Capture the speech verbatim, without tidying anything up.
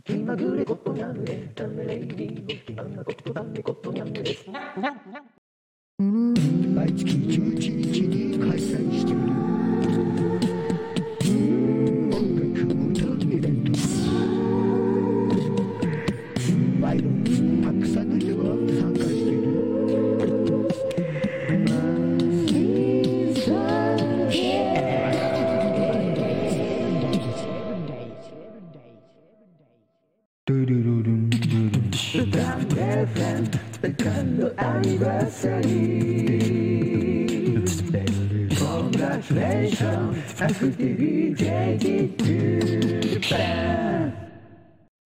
気まぐれことにゃんエンタメレイディオ気まぐれことだねことにゃんです。毎月じゅういちにちに開催している音楽歌イベント。毎度たくさんの人が参加している。Second anniversary. Congratulations, F T V J T to Japan.